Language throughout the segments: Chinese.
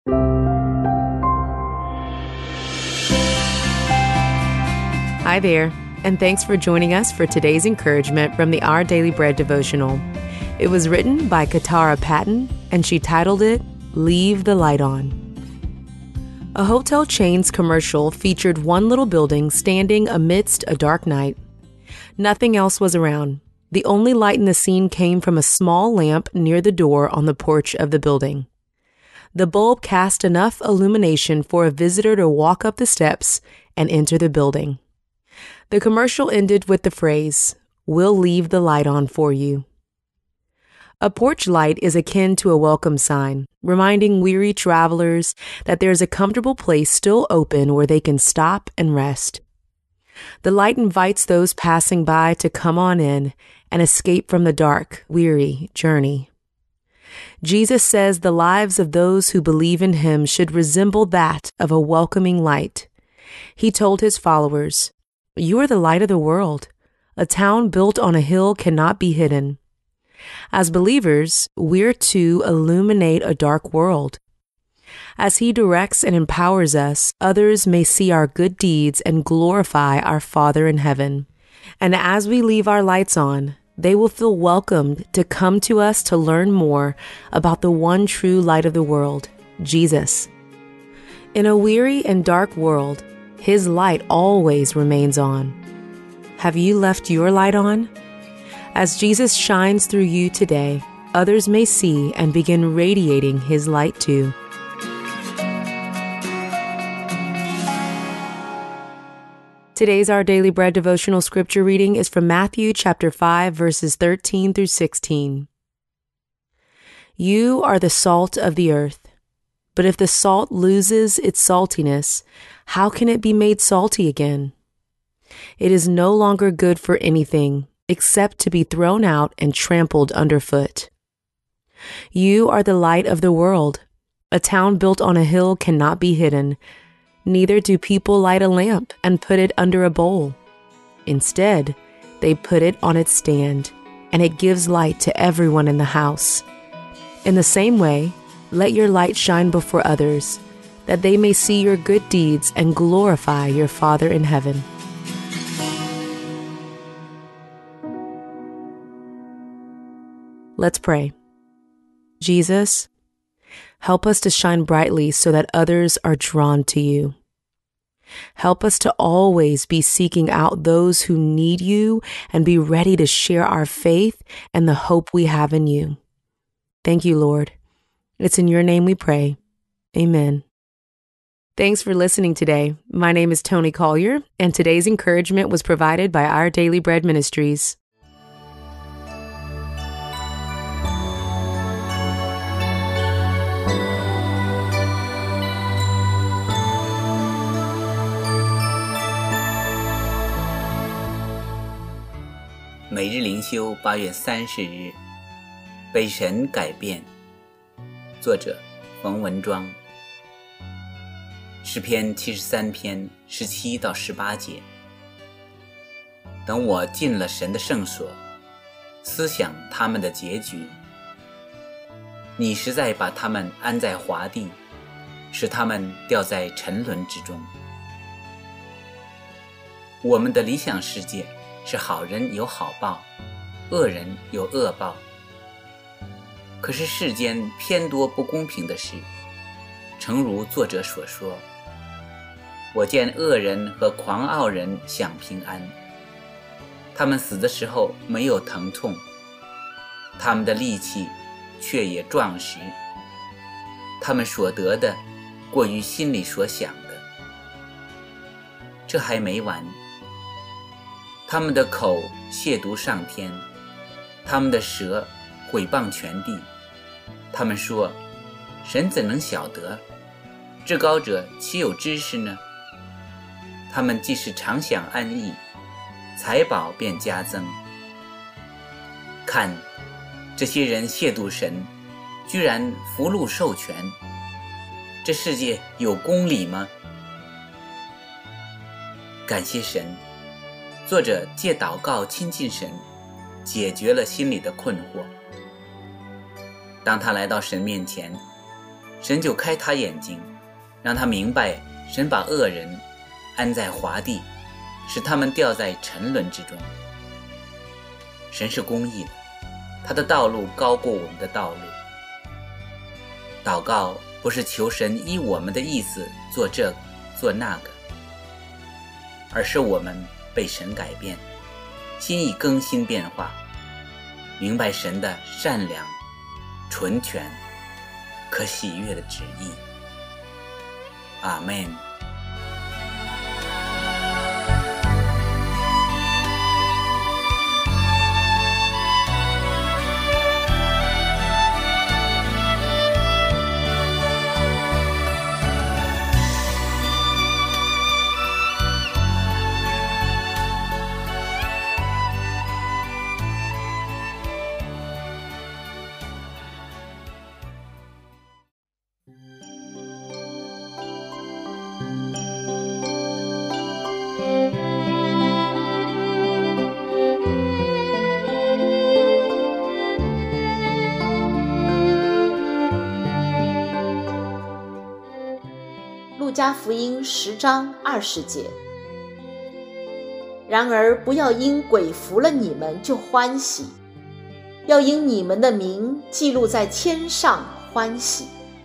Hi there, and thanks for joining us for today's encouragement from the Our Daily Bread devotional. It was written by Katara Patton, and she titled it, Leave the Light On. A hotel chain's commercial featured one little building standing amidst a dark night. Nothing else was around. The only light in the scene came from a small lamp near the door on the porch of the building. The bulb cast enough illumination for a visitor to walk up the steps and enter the building. The commercial ended with the phrase, "We'll leave the light on for you." A porch light is akin to a welcome sign, reminding weary travelers that there is a comfortable place still open where they can stop and rest. The light invites those passing by to come on in and escape from the dark, weary journey. Jesus says the lives of those who believe in him should resemble that of a welcoming light. He told his followers, "You are the light of the world. A town built on a hill cannot be hidden." As believers, we're to illuminate a dark world. As he directs and empowers us, others may see our good deeds and glorify our Father in heaven. And as we leave our lights on, they will feel welcomed to come to us to learn more about the one true light of the world, Jesus. In a weary and dark world, his light always remains on. Have you left your light on? As Jesus shines through you today, others may see and begin radiating his light too. Today's Our Daily Bread devotional scripture reading is from Matthew chapter 5, verses 13 through 16. You are the salt of the earth. But if the salt loses its saltiness, how can it be made salty again? It is no longer good for anything except to be thrown out and trampled underfoot. You are the light of the world. A town built on a hill cannot be hidden. Neither do people light a lamp and put it under a bowl. Instead, they put it on its stand, and it gives light to everyone in the house. In the same way, let your light shine before others, that they may see your good deeds and glorify your Father in heaven. Let's pray. Jesus, help us to shine brightly so that others are drawn to you. Help us to always be seeking out those who need you and be ready to share our faith and the hope we have in you. Thank you, Lord. It's in your name we pray. Amen. Thanks for listening today. My name is Tony Collier, and today's encouragement was provided by Our Daily Bread Ministries. 每日灵修8月30日，被神改变。作者冯文庄。诗篇73篇17到18节。等我进了神的圣所，思想他们的结局。你实在把他们安在华地，使他们掉在沉沦之中。我们的理想世界是好人有好报，恶人有恶报。可是世间偏多不公平的事，诚如作者所说，我见恶人和狂傲人享平安，他们死的时候没有疼痛，他们的力气却也壮实，他们所得的过于心里所想的。这还没完，他们的口亵渎上天，他们的舌毁谤全地。他们说，神怎能晓得？至高者岂有知识呢？他们既是常享安逸，财宝便加增。看，这些人亵渎神，居然福禄授权。这世界有公理吗？感谢神，作者借祷告亲近神，解决了心里的困惑。当他来到神面前， 神就开他眼睛，让他明白神把恶人安在华地，使他们掉在沉沦之中。神是公义的，他的道路高过我们的道路。祷告不是求神依我们的意思做这个做那个，而是我们被神改变，心意更新变化，明白神的善良、纯全、可喜悦的旨意。阿们。 路加福音10章20节。然而不要因鬼服了你们就欢喜，要因你们的名记录在天上欢喜。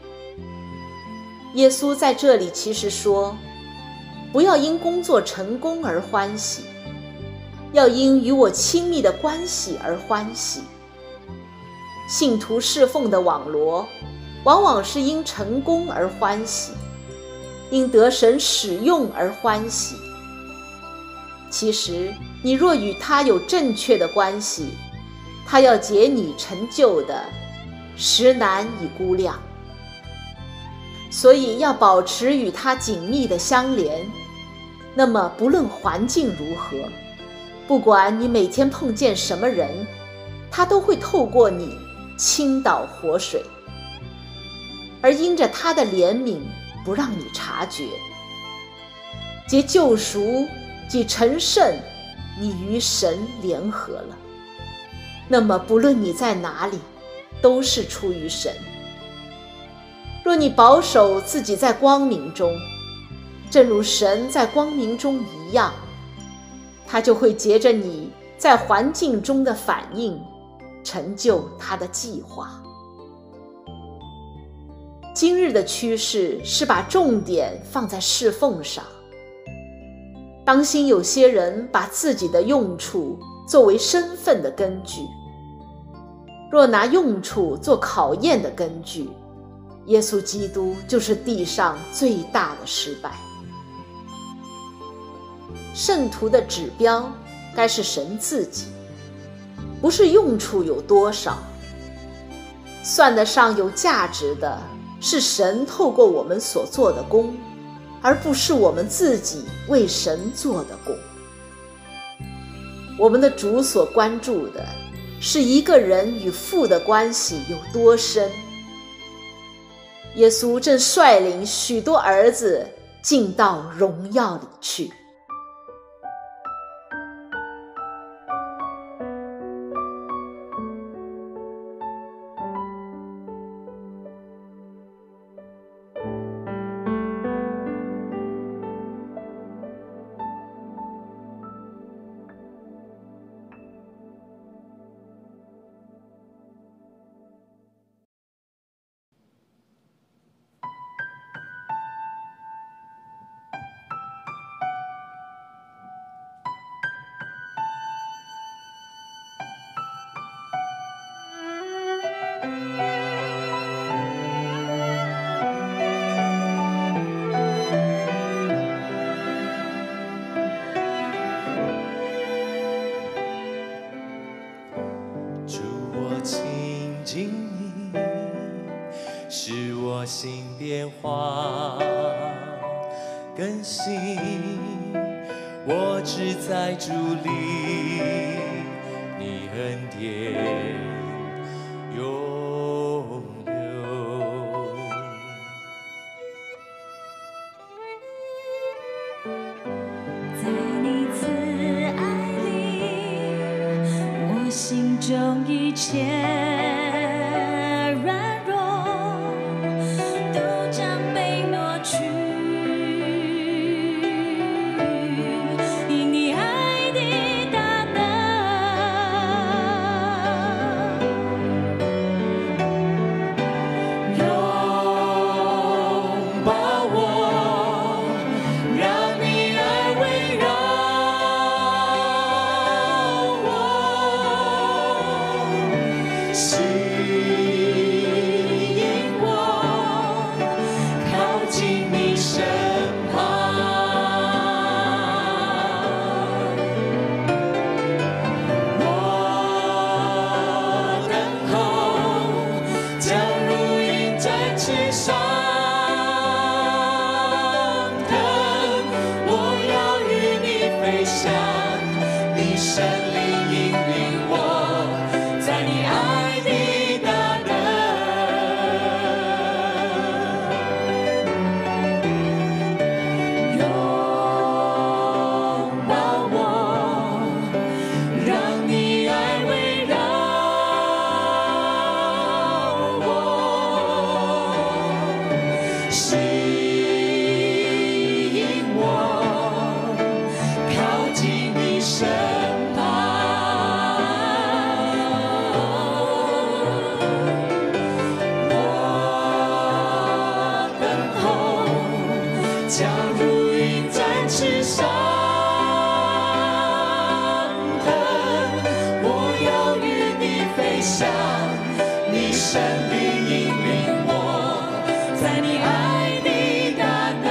耶稣在这里其实说，不要因工作成功而欢喜，要因与我亲密的关系而欢喜。信徒侍奉的网罗往往是因成功而欢喜，因得神使用而欢喜。其实你若与他有正确的关系，他要结你成就的，实难以估量。所以要保持与他紧密的相连，那么不论环境如何，不管你每天碰见什么人，他都会透过你倾倒活水，而因着他的怜悯不让你察觉。藉救赎即成圣，你与神联合了，那么不论你在哪里，都是出于神。若你保守自己在光明中，正如神在光明中一样，他就会藉着你在环境中的反应，成就他的计划。今日的趋势是把重点放在侍奉上，当心有些人把自己的用处作为身份的根据。若拿用处做考验的根据，耶稣基督就是地上最大的失败。圣徒的指标该是神自己，不是用处有多少。算得上有价值的是神透过我们所做的工，而不是我们自己为神做的工。我们的主所关注的是一个人与父的关系有多深。耶稣正率领许多儿子进到荣耀里去。 使我心变化更新，我只在主里，你恩典永留。 在你慈爱里，我心中一切软弱上腾，我要与你飞翔，你神灵引领我，在你爱的大能，拥抱我，让你爱围绕我，吸引我靠近你身旁，我等候将如鹰展翅上腾，我要与你飞翔，你神灵引领我，在你爱的大能，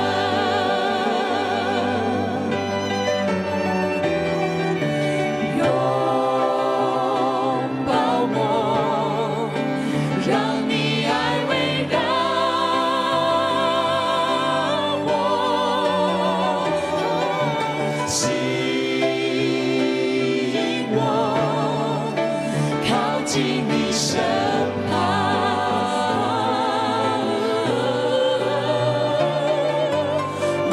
拥抱我，让你爱围绕我，吸引我靠近你身旁，我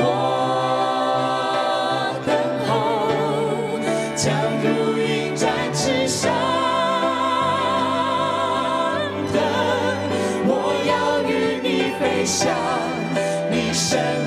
等候将如鹰展翅上腾，我要与你飞翔，你神